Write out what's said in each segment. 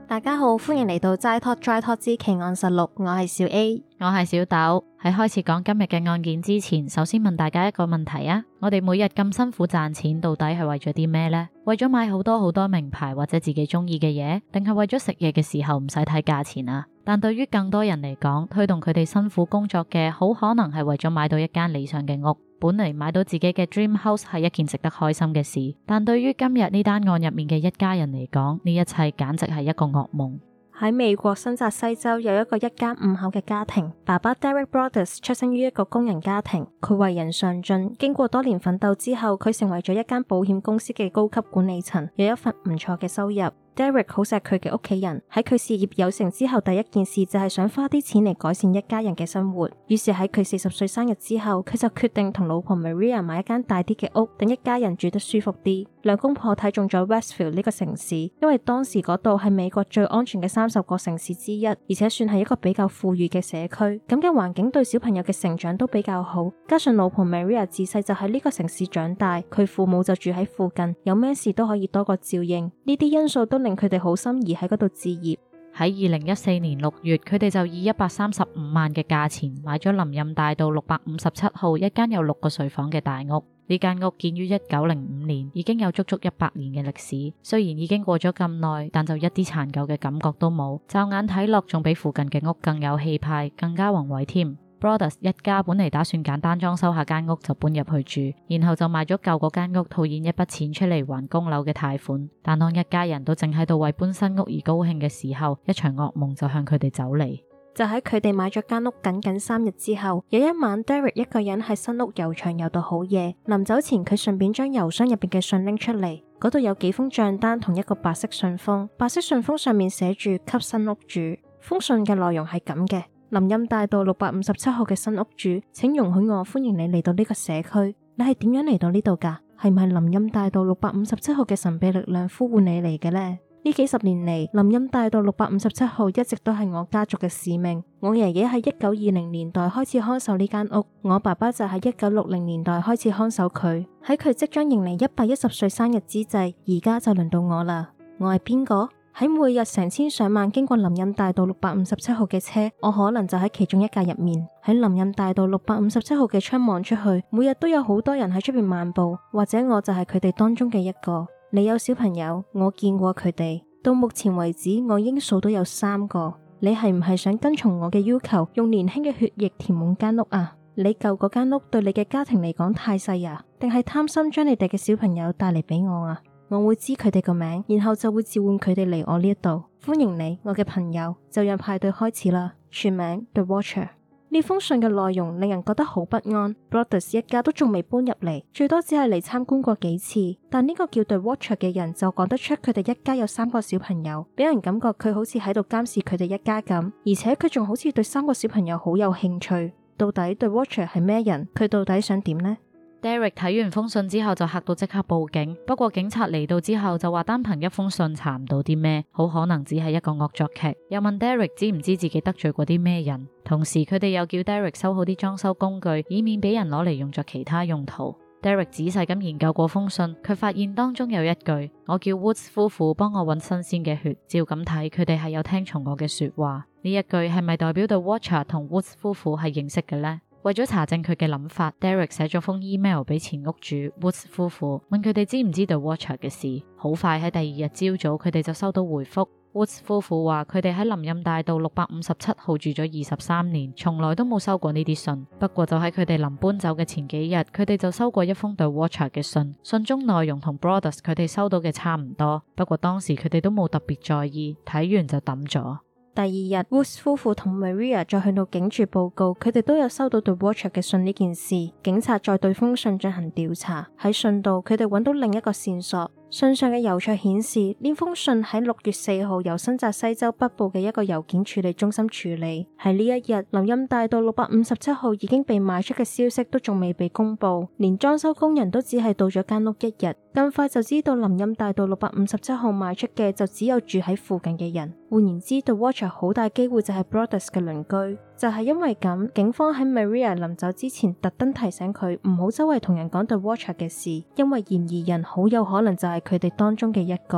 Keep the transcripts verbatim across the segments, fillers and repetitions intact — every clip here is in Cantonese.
大家好，歡迎嚟到齋 Talk Dry Talk 之奇案實錄，我係小 A， 我係小豆。喺開始講今日嘅案件之前，首先問大家一個問題啊，我哋每日咁辛苦賺錢，到底係為咗啲咩呢？為咗買好多好多名牌或者自己中意嘅嘢，定係為咗食嘢嘅時候唔使睇價錢啊？但對於更多人嚟講，推動佢哋辛苦工作嘅，好可能係為咗買到一間理想嘅屋。本嚟買到自己嘅 dream house 係一件值得開心嘅事，但對於今日呢單案入面嘅一家人嚟講，呢一切簡直係一個噩夢。 喺美國新澤西州有一個一家五口嘅家庭，爸爸 Derek Broaddus 出生於一個工人家庭，佢為人上進，經過多年奮鬥之後，佢成為咗一間保險公司嘅高級管理層，有一份唔錯嘅收入。Derek 好錫佢嘅屋企人，喺佢事業有成之後，第一件事就係想花啲錢嚟改善一家人嘅生活。於是喺佢四十歲生日之後，佢就決定同老婆 Maria 買一間大啲嘅屋，等一家人住得舒服啲。兩公婆睇中咗 Westville 呢個城市，因為當時嗰度係美國最安全嘅三十個城市之一，而且算係一個比較富裕嘅社區，咁嘅環境對小朋友嘅成長都比較好。加上老婆 Maria 自細就喺呢個城市長大，佢父母就住喺附近，有咩事都可以多個照應，呢啲因素都令佢哋好心儀喺嗰度置業。 喺二零一四年六月，佢哋就以一百三十五萬嘅價錢買咗林蔭大道六百五十七號一間有六個睡房嘅大屋。呢間屋建於一九零五年，已經有足足一百年嘅歷史。雖然已經過咗咁耐，但就一啲殘舊嘅感覺都冇，驟眼睇落仲比附近嘅屋更有氣派，更加宏偉添。Broaddus 一家本嚟打算簡單裝修下間屋就搬入去住，然後就賣咗舊嗰間屋套現一筆錢出嚟還供樓嘅貸款。但當一家人都正喺度為搬新屋而高興嘅時候，一場噩夢就向佢哋走嚟。 就喺佢哋買咗間屋僅僅三日之後，有一晚 Derek 一個人喺新屋遊場遊到好夜，臨走前佢順便將郵箱入邊嘅信拎出嚟，嗰度有幾封賬單同一個白色信封，白色信封上面寫住給新屋主。封信嘅內容係咁嘅：林蔭大道六百五十七號嘅新屋主，請容許我歡迎你嚟到呢個社區。你係點樣嚟到呢度㗎？係咪林蔭大道六百五十七號嘅神秘力量呼喚你嚟嘅呢？呢幾十年嚟，林蔭大道六百五十七號一直都係我家族嘅使命。我爺爺喺一九二零年代開始看守呢間屋，我爸爸就喺一九六零年代開始看守佢。喺佢即將迎嚟一百一十歲生日之際，而家就輪到我啦。我係邊個？喺每日成千上萬經過林蔭大道六百五十七號嘅車，我可能就喺其中一架入面。喺林蔭大道六百五十七號嘅窗望出去，每日都有好多人喺出邊漫步，或者我就係佢哋當中嘅一個。你有小朋友，我見過佢哋。到目前為止，我應數到有三個。你係唔係想跟從我嘅要求，用年輕嘅血液填滿間屋啊？你舊嗰間屋對你嘅家庭嚟講太細啊？定係貪心將你哋嘅小朋友帶嚟俾我啊？我會知佢哋個名，然後就會召喚佢哋嚟我呢一度。歡迎你，我嘅朋友，就讓派對開始啦。全名 The Watcher。呢封信嘅內容令人覺得好不安。Broaddus 一家都仲未搬入嚟，最多只係嚟參觀過幾次。但呢個叫 The Watcher 嘅人就講得出佢哋一家有三個小朋友，俾人感覺佢好似喺度監視佢哋一家咁，而且佢仲好似對三個小朋友好有興趣。到底 The Watcher 係咩人？佢到底想點呢？ Derek 睇完封信之後就嚇到即刻報警，不過警察嚟到之後就話單憑一封信查唔到啲咩，好可能只係一個惡作劇。又問 Derek 知唔知自己得罪過啲咩人，同時佢哋又叫 Derek 收好啲裝修工具，以免俾人攞嚟用作其他用途。Derek 仔細咁研究過封信，佢發現當中有一句：我叫 Woods 夫婦幫我揾新鮮嘅血。照咁睇，佢哋係有聽從我嘅說話。呢一句係咪代表到 Watcher 同 Woods 夫婦係認識嘅呢？為咗查證佢嘅諗法， Derek 寫咗封 email 俾前屋主 Woods 夫婦，問佢哋知唔知道 Watcher 嘅事。好快喺第二日朝早，佢哋就收到回覆。Woods 夫婦話佢哋喺林蔭大道六百五十七號住咗二十三年，從來都冇收過呢啲信。不過就喺佢哋臨搬走嘅前幾日，佢哋就收過一封對 Watcher 嘅信，信中內容同 Broaddus 佢哋收到嘅差唔多。不過當時佢哋都冇特別在意，睇完就抌咗。 第二日 Woods 夫婦同 Maria 再去到警署報告，佢哋都有收到對 Watcher 嘅信呢件事。警察再對封信進行調查，喺信度佢哋揾到另一個線索。信上嘅郵戳顯示，呢封信喺六月四號由新澤西州北部嘅一個郵件處理中心處理。喺呢一日，林蔭大道六百五十七號已經被賣出嘅消息都仲未被公布，連裝修工人都只係到咗間屋一日，咁快就知道林蔭大道六百五十七號賣出嘅就只有住喺附近嘅人。換言之 ，The Watcher 好大機會就係 Broaddus 嘅鄰居。就係因為咁，警方喺 Maria 臨走之前特登提醒佢唔好周圍同人講 The Watcher 嘅事，因為嫌疑人好有可能就係佢哋當中嘅一個。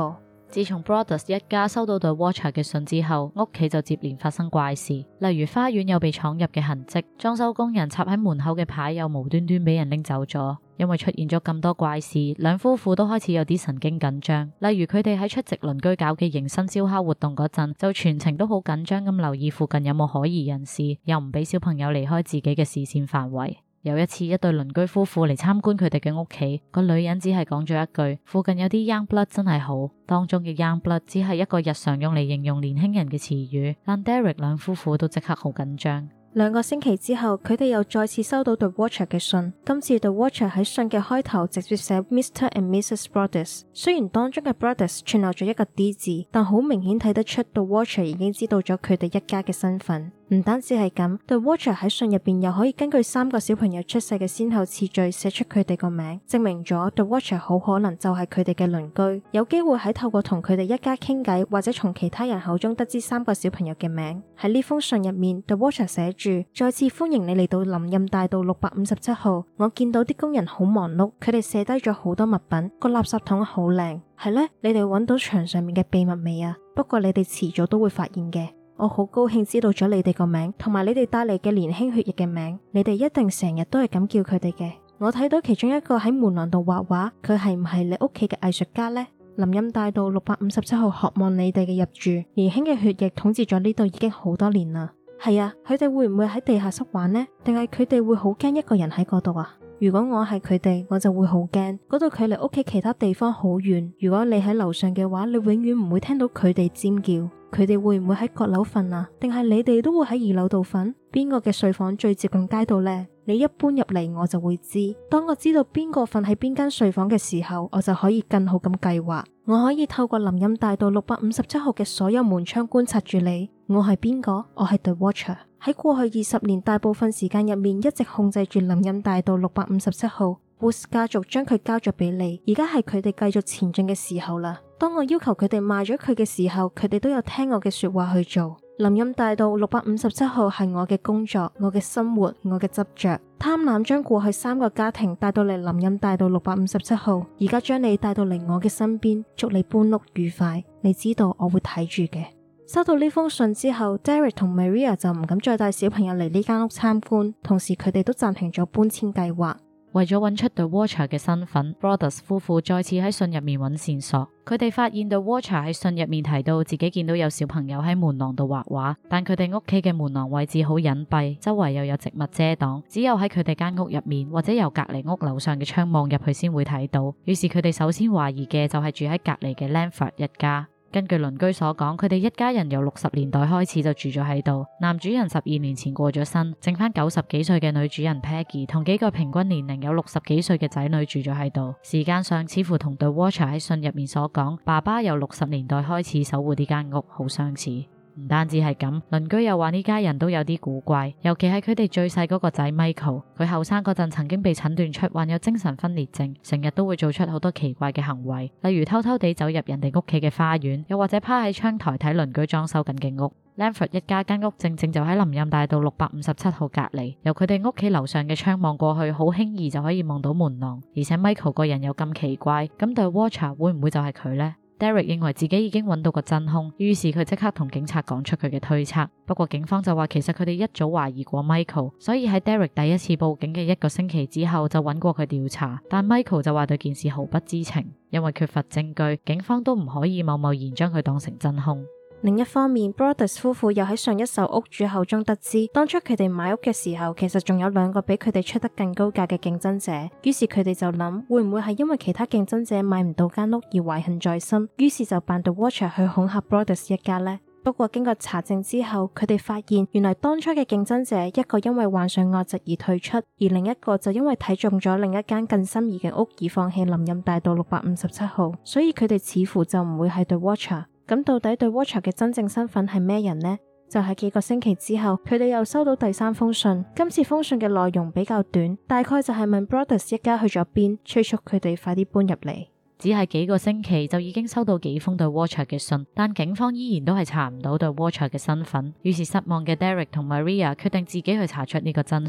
自從 Broaddus 一家收到 The Watcher 嘅信之後，屋企就接連發生怪事，例如花園有被闖入嘅痕跡，裝修工人插喺門口嘅牌又無端端俾人拎走咗。因為出現咗咁多怪事，兩夫婦都開始有啲神經緊張。例如佢哋喺出席鄰居搞嘅迎新燒烤活動嗰陣，就全程都好緊張咁留意附近有冇可疑人士，又唔俾小朋友離開自己嘅視線範圍。有一次，一對鄰居夫婦嚟參觀佢哋嘅屋企，個女人只係講咗一句附近有啲 young blood 真係好，當中嘅 young blood 只係一個日常用嚟形容年輕人嘅詞語，但 Derek 兩夫婦都即刻好緊張。 兩個星期之後，佢哋又再次收到 The Watcher 嘅信。今次 The Watcher 喺信嘅開頭直接寫 Mister and Missus Broaddus， 雖然當中嘅 Broaddus 串漏咗一個 D 字，但好明顯睇得出 The Watcher 已經知道咗佢哋一家嘅身份。唔單止係咁 ，The Watcher 喺信入邊又可以根據三個小朋友出世嘅先後次序寫出佢哋個名，證明咗 The Watcher 好可能就係佢哋嘅鄰居，有機會喺透過同佢哋一家傾偈，或者從其他人口中得知三個小朋友嘅名。喺呢封信入面 ，The Watcher 寫住：再次歡迎你嚟到林蔭大道六百五十七號。我見到啲工人好忙碌，佢哋卸低咗好多物品，個垃圾桶好靚。係呢，你哋揾到牆上面嘅秘密未啊？不過你哋遲早都會發現嘅。我好高興知道咗你哋個名，同埋你哋帶嚟嘅年輕血液嘅名，你哋一定成日都係咁叫佢哋嘅。我睇到其中一個喺門廊度畫畫，佢係唔係你屋企嘅藝術家呢？林蔭大道六百五十七號渴望你哋嘅入住，年輕嘅血液統治咗呢度已經好多年啦。係啊，佢哋會唔會喺地下室玩呢？定係佢哋會好驚一個人喺嗰度啊？如果我係佢哋，我就會好驚。嗰度距離屋企其他地方好遠，如果你喺樓上嘅話，你永遠唔會聽到佢哋尖叫。佢哋會唔會喺閣樓瞓啊？定係你哋都會喺二樓度瞓？邊個嘅睡房最接近街道呢？你一搬入嚟，我就會知。當我知道邊個瞓喺邊間睡房嘅時候，我就可以更好咁計劃。我可以透過林蔭大道六百五十七號嘅所有門窗觀察住你。我係邊個？我係 The Watcher。喺過去二十年大部分時間入面，一直控制住林蔭大道六百五十七號。Woods 家族將佢交咗俾你，而家係佢哋繼續前進嘅時候啦。當我要求佢哋賣咗佢嘅時候，佢哋都有聽我嘅說話去做。林蔭大道六百五十七號係我嘅工作，我嘅生活，我嘅執着。貪婪將過去三個家庭帶到嚟林蔭大道六百五十七號，而家將你帶到嚟我嘅身邊，祝你搬屋愉快。你知道我會睇住嘅。收到呢封信之後 Derek 同 Maria 就唔敢再帶小朋友嚟呢間屋參觀，同時佢哋都暫停咗搬遷計劃。 為咗揾出 The Watcher 嘅身份 ，Broaddus 夫婦再次喺信入面揾線索。佢哋發現 The Watcher 喺信入面提到自己見到有小朋友喺門廊度畫畫，但佢哋屋企嘅門廊位置好隱蔽，周圍又有植物遮擋，只有喺佢哋間屋入面或者由隔離屋樓上嘅窗望入去先會睇到。於是佢哋首先懷疑嘅就係住喺隔離嘅 Langford 一家。根據鄰居所講，佢哋一家人由六十年代開始就住咗喺度。男主人十二年前過咗身，剩翻九十幾歲嘅女主人 Peggy 同幾個平均年齡有六十幾歲嘅仔女住咗喺度。時間上似乎同 The Watcher 喺信入面所講，爸爸由六十年代開始守護呢間屋好相似。唔單止係咁，鄰居又話呢家人都有啲古怪，尤其係佢哋最細嗰個仔 Michael， 佢後生嗰陣曾經被診斷出患有精神分裂症，成日都會做出好多奇怪嘅行為，例如偷偷地走入人哋屋企嘅花園，又或者趴喺窗台睇鄰居裝修緊嘅屋。Langford 一家間屋正正就喺林蔭大道六百五十七號隔離，由佢哋屋企樓上嘅窗望過去，好輕易就可以望到門廊。而且 Michael 個人又咁奇怪，咁 The Watcher 會唔會就係佢呢？Derek 認為自己已經揾到個真兇，於是佢即刻同警察講出佢嘅推測。不過警方就話其實佢哋一早懷疑過 Michael， 所以喺 Derek 第一次報警嘅一個星期之後就揾過佢調查。但 Michael 就話對件事毫不知情，因為缺乏證據，警方都唔可以貿貿然將佢當成真兇。 另一方面 Broaddus 夫婦又喺上一手屋主口中得知，當初佢哋買屋嘅時候，其實仲有兩個比佢哋出得更高價嘅競爭者。於是佢哋就諗，會唔會係因為其他競爭者買唔到間屋而懷恨在心，於是就扮 The Watcher 去恐嚇 Broaddus 一家呢？不過經過查證之後，佢哋發現原來當初嘅競爭者一個因為患上惡疾而退出，而另一個就因為睇中咗另一間更心儀嘅屋而放棄林蔭大道六百五十七號，所以佢哋似乎就唔會係 The Watcher。咁到底 The Watcher 嘅真正身份係咩人呢？就喺幾個星期之後，佢哋又收到第三封信。今次封信嘅內容比較短，大概就係問 Broaddus 一家去咗邊，催促佢哋快啲搬入嚟。 只係幾個星期就已經收到幾封 The Watcher 嘅信，但警方依然都係查唔到 The Watcher 嘅身份。於是失望嘅 Derek 同 Maria 決定自己去查出呢個真相。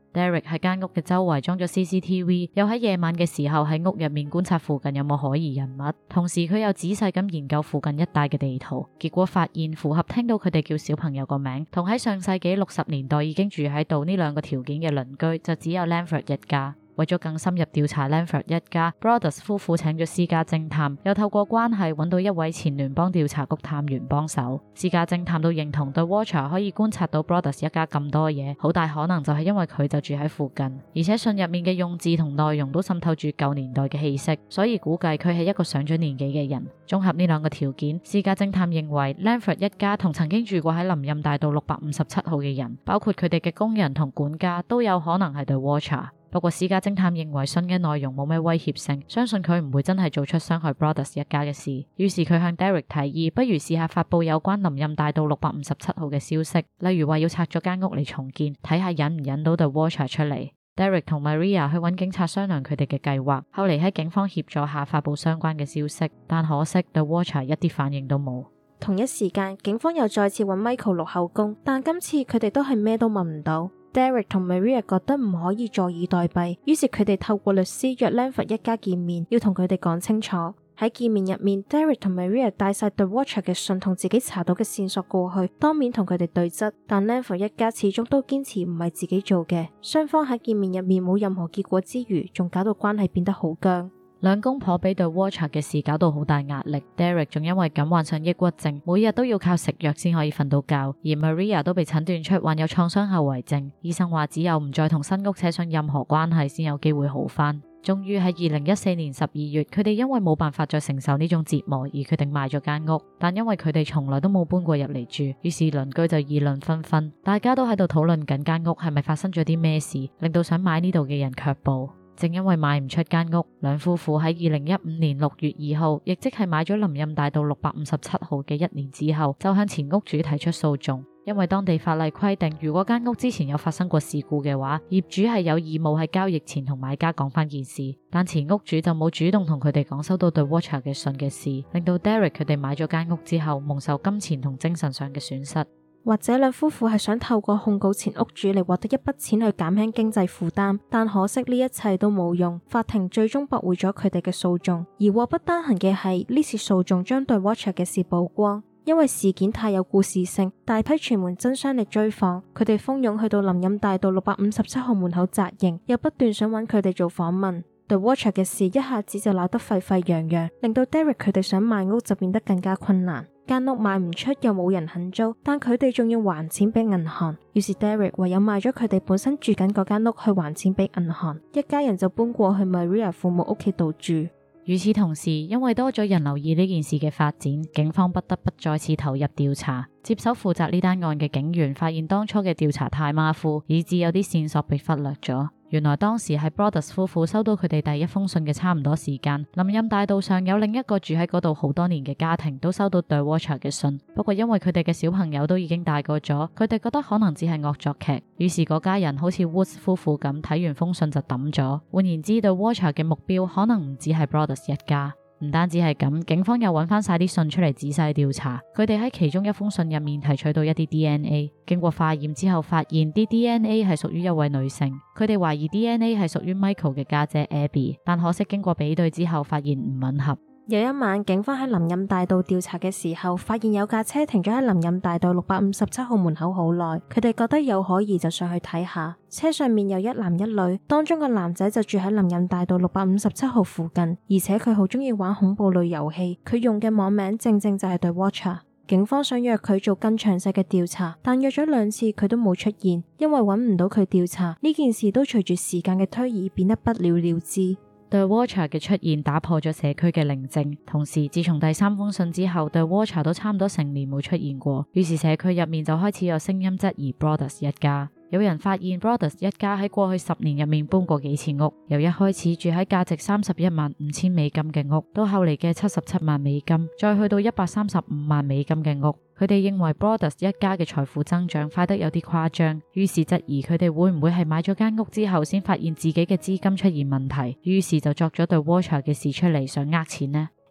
Derek 喺間屋嘅周圍裝咗 C C T V， 又喺夜晚嘅時候喺屋入面觀察附近有冇可疑人物，同時佢又仔細咁研究附近一帶嘅地圖，結果發現符合聽到佢哋叫小朋友個名同喺上世紀六十年代已經住喺度呢兩個條件嘅鄰居就只有 Langford 一家。為咗更深入調查 Langford 一家 ，Broaddus 夫婦請咗私家偵探，又透過關係揾到一位前聯邦調查局探員幫手。私家偵探都認同 The Watcher 可以觀察到 Broaddus 一家咁多嘢，好大可能就係因為佢就住喺附近，而且信入面嘅用字同內容都滲透住舊年代嘅氣息，所以估計佢係一個上咗年紀嘅人。綜合呢兩個條件，私家偵探認為 Langford 一家同曾經住過喺林蔭大道六百五十七號嘅人，包括佢哋嘅工人同管家，都有可能係 The Watcher。不過私家偵探認為信嘅內容冇咩威脅性，相信佢唔會真係做出傷害 Broaddus 一家嘅事。於是佢向 Derek 提議，不如試下發佈有關林蔭大道六百五十七號嘅消息，例如話要拆咗間屋嚟重建，睇下引唔引到 The Watcher 出嚟。Derek 同 Maria 去揾警察商量佢哋嘅計劃，後嚟喺警方協助下發佈相關嘅消息，但可惜 The Watcher 一啲反應都冇。 同一時間，警方又再次揾 Michael 錄口供，但今次佢哋都係咩都問唔到。Derek 同 Maria 覺得唔可以坐以待斃，於是佢哋透過律師約 Langford 一家見面，要同佢哋講清楚。喺見面入面 ，Derek 同 Maria 帶晒 The Watcher 嘅信同自己查到嘅線索過去，當面同佢哋對質，但 Langford 一家始終都堅持唔係自己做嘅。雙方喺見面入面冇任何結果之餘，仲搞到關係變得好僵。 兩公婆俾 The Watcher 嘅事搞到好大壓力 ，Derek 仲因為咁患上抑鬱症，每日都要靠食藥先可以瞓到覺。而 Maria 都被診斷出患有創傷後遺症，醫生話只有唔再同新屋扯上任何關係，先有機會好返。終於喺二零一四年十二月，佢哋因為冇辦法再承受呢種折磨，而決定賣咗間屋。但因為佢哋從來都冇搬過入嚟住，於是鄰居就議論紛紛，大家都喺度討論緊間屋係咪發生咗啲咩事，令到想買呢度嘅人卻步。正因為賣唔出間屋，兩夫婦喺二零一五年六月二號，亦即係買咗林蔭大道六百五十七號嘅一年之後，就向前屋主提出訴訟。因為當地法例規定，如果間屋之前有發生過事故嘅話，業主係有義務喺交易前同買家講翻件事。但前屋主就冇主動同佢哋講收到 The Watcher 嘅信嘅事，令到 Derek 佢哋買咗間屋之後，蒙受金錢同精神上嘅損失。 或者兩夫婦係想透過控告前屋主嚟獲得一筆錢去減輕經濟負擔，但可惜呢一切都冇用，法庭最終駁回咗佢哋嘅訴訟。而禍不單行嘅係呢次訴訟將對 Watcher 嘅事曝光，因為事件太有故事性，大批傳媒爭相嚟追訪，佢哋蜂擁去到林蔭大道六百五十七號門口紮營，又不斷想揾佢哋做訪問。The Watcher 嘅事一下子就鬧得沸沸揚揚，令到 Derek 佢哋想賣屋就變得更加困難。間屋賣唔出，又冇人肯租，但佢哋仲要還錢俾銀行，於是 Derek 唯有賣咗佢哋本身住緊嗰間屋去還錢俾銀行，一家人就搬過去 Maria 父母屋企度住。 與此同時，因為多咗人留意呢件事嘅發展，警方不得不再次投入調查。接手負責呢單案嘅警員發現當初嘅調查太馬虎，以致有啲線索被忽略咗。原來當時係 Broaddus 夫婦收到佢哋第一封信嘅差唔多時間，林蔭大道上有另一個住喺嗰度好多年嘅家庭都收到 The Watcher 嘅信，不過因為佢哋嘅小朋友都已經大個咗，佢哋覺得可能只係惡作劇，於是嗰家人好似 Woods 夫婦咁，睇完封信就抌咗。換言之 ，The Watcher 嘅目標可能唔只係 Broaddus 一家。唔單止係咁，警方又揾翻晒啲信出嚟仔細調查，佢哋喺其中一封信入面提取到一啲 D N A， 經過化驗之後發現啲 D N A 係屬於一位女性，佢哋懷疑 D N A 係屬於 Michael 嘅家姐 Abby， 但可惜經過比對之後發現唔吻合。 有一晚，警方喺林蔭大道調查嘅時候，發現有架車停咗喺林蔭大道六百五十七號門口好耐，佢哋覺得有可疑就上去睇下。車上面有一男一女，當中個男仔就住喺林蔭大道六百五十七號附近，而且佢好中意玩恐怖類遊戲，佢用嘅網名正正就係 The Watcher。警方想約佢做更詳細嘅調查，但約咗兩次佢都冇出現，因為揾唔到佢調查，呢件事都隨住時間嘅推移變得不了了之。 The Watcher 嘅出現打破咗社區嘅寧靜，同時自從第三封信之後 The Watcher 都差唔多成年冇出現過，於是社區入面就開始有聲音質疑 Broaddus 一家。有人發現 Broaddus 一家喺過去十年入面搬過幾次屋，由一開始住喺價值三十一萬五千美金嘅屋，到後嚟嘅七十七萬美金，再去到一百三十五萬美金嘅屋。佢哋認為 Broaddus 一家嘅財富增長快得有啲誇張，於是質疑佢哋會唔會係買咗間屋之後先發現自己嘅資金出現問題，於是就作咗對 Watcher 嘅事出嚟，想呃錢呢？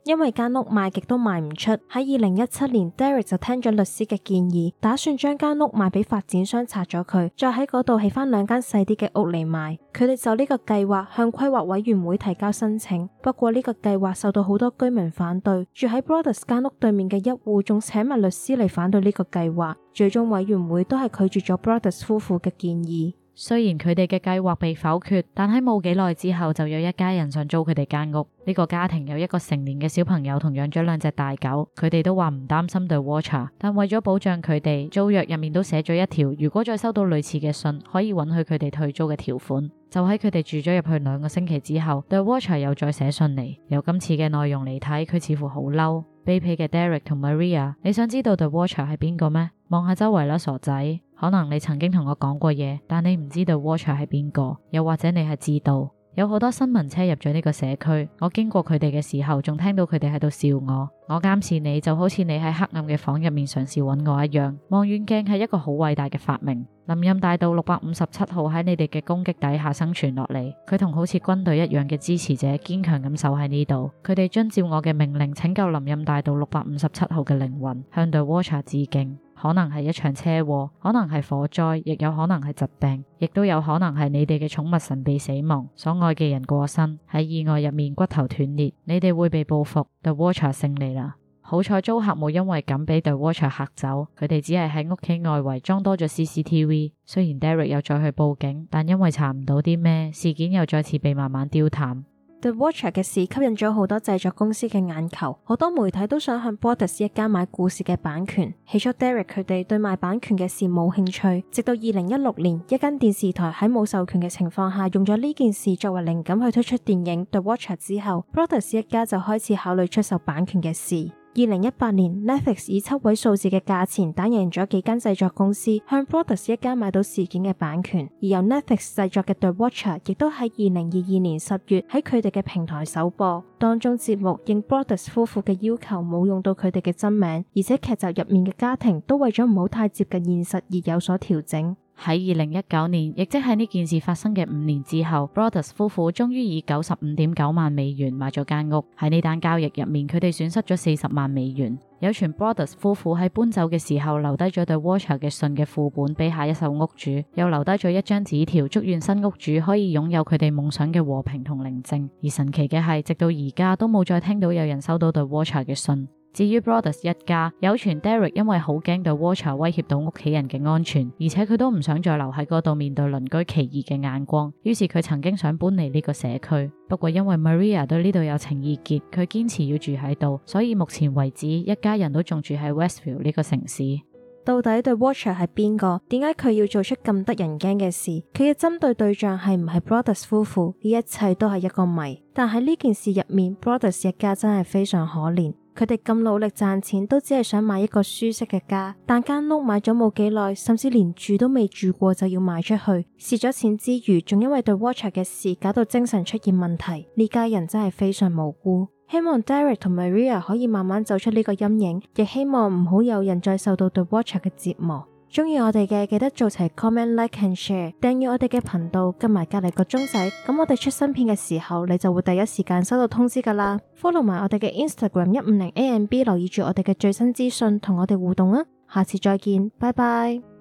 因為間屋賣極都賣唔出，喺二零一七年 Derek 就聽咗律師嘅建議，打算將間屋賣俾發展商拆咗佢，再喺嗰度起翻兩間細啲嘅屋嚟賣。佢哋就呢個計劃向規劃委員會提交申請，不過呢個計劃受到好多居民反對，住喺 Brothers 間屋對面嘅一戶仲請埋律師嚟反對呢個計劃，最終委員會都係拒絕咗 Brothers 夫婦嘅建議。 雖然佢哋嘅計劃被否決，但喺冇幾耐之後就有一家人想租佢哋間屋。呢個家庭有一個成年嘅小朋友同養咗兩隻大狗，佢哋都話唔擔心 The Watcher， 但為咗保障佢哋，租約入面都寫咗一條，如果再收到類似嘅信，可以允許佢哋退租嘅條款。就喺佢哋住咗入去兩個星期之後， The Watcher 又再寫信嚟。由今次嘅內容嚟睇，佢似乎好嬲。卑鄙嘅 Derek 同 Maria， 你想知道 The Watcher 係邊個咩？望下周圍啦，傻仔。可能你曾經同我講過嘢，但你唔知道 Watcher 係邊個，又或者你係知道。有好多新聞車入咗呢個社區，我經過佢哋嘅時候，仲聽到佢哋喺度笑我。我監視你就好似你喺黑暗嘅房入面嘗試揾我一樣。望遠鏡係一個好偉大嘅發明。林蔭大道六百五十七號喺你哋嘅攻擊底下生存落嚟，佢同好似軍隊一樣嘅支持者堅強咁守喺呢度。佢哋遵照我嘅命令拯救林蔭大道六百五十七號嘅靈魂，向 The Watcher 致敬。可能係一場車禍，可能係火災，亦有可能係疾病，亦都有可能係你哋嘅寵物神秘死亡，所愛嘅人過身，喺意外入面骨頭斷裂，你哋會被報復。The Watcher 勝利啦！好彩租客冇因為咁俾 The Watcher 嚇走，佢哋只係喺屋企外圍裝多咗 C C T V。雖然 Derek 又再去報警，但因為查唔到啲咩，事件又再次被慢慢丟淡。 The Watcher 嘅事吸引咗好多製作公司嘅眼球，好多媒體都想向 Brothers 一家買故事嘅版權。起初 Derek 佢哋對賣版權嘅事冇興趣，直到二零一六年，一間電視台喺冇授權嘅情況下，用咗呢件事作為靈感去推出電影 The Watcher 之後， Brothers 一家就開始考慮出售版權嘅事。二零一八年 Netflix 以七位數字嘅價錢打贏咗幾間製作公司，向 Brothers 一家買到事件嘅版權，而由 Netflix 製作嘅 The Watcher 亦都喺二零二二年十月喺佢哋嘅平台首播。當中節目應 Brothers 夫婦嘅要求冇用到佢哋嘅真名，而且劇集入面嘅家庭都為咗唔好太接近現實而有所調整。 喺二零一九年，亦即係呢件事發生嘅五年之後， Brothers 夫婦終於以九十五點九萬美元買咗間屋。喺呢單交易入面，佢哋損失咗四十萬美元。有傳 Brothers 夫婦喺搬走嘅時候留低咗對 Watcher 嘅信嘅副本俾下一手屋主，又留低咗一張紙條，祝願新屋主可以擁有佢哋夢想嘅和平同寧靜。而神奇嘅係，直到而家都冇再聽到有人收到對 Watcher 嘅信。至於 Brothers 一家，有傳 Derek 因為好驚對 Watcher 威脅到屋企人嘅安全，而且佢都唔想再留喺嗰度面對鄰居奇異嘅眼光，於是佢曾經想搬離呢個社區。不過因為 Maria 對呢度有情意結，佢堅持要住喺度，所以目前為止一家人都仲住喺 Westview 呢個城市。 到底 The Watcher 係邊個？點解佢要做出咁得人驚嘅事？佢嘅針對對象係唔係 Brothers 夫婦？呢一切都係一個謎。但喺呢件事入面 ，Brothers 一家真係非常可憐。佢哋咁努力賺錢，都只係想買一個舒適嘅家，但間屋買咗冇幾耐，甚至連住都未住過就要賣出去，蝕咗錢之餘，仲因為對 Watcher 嘅事搞到精神出現問題。呢家人真係非常無辜。希望 Derek 同 Maria 可以慢慢走出呢個陰影，亦希望唔好有人再受到對 Watcher 嘅折磨。中意我哋嘅記得做齊 comment like and share， 訂閱我哋嘅頻道，跟埋隔籬個鐘仔，咁我哋出新片嘅時候，你就會第一時間收到通知噶啦。follow 埋我哋嘅 Instagram 一五零 A M B， 留意住我哋嘅最新資訊，同我哋互動啊！下次再見，拜拜。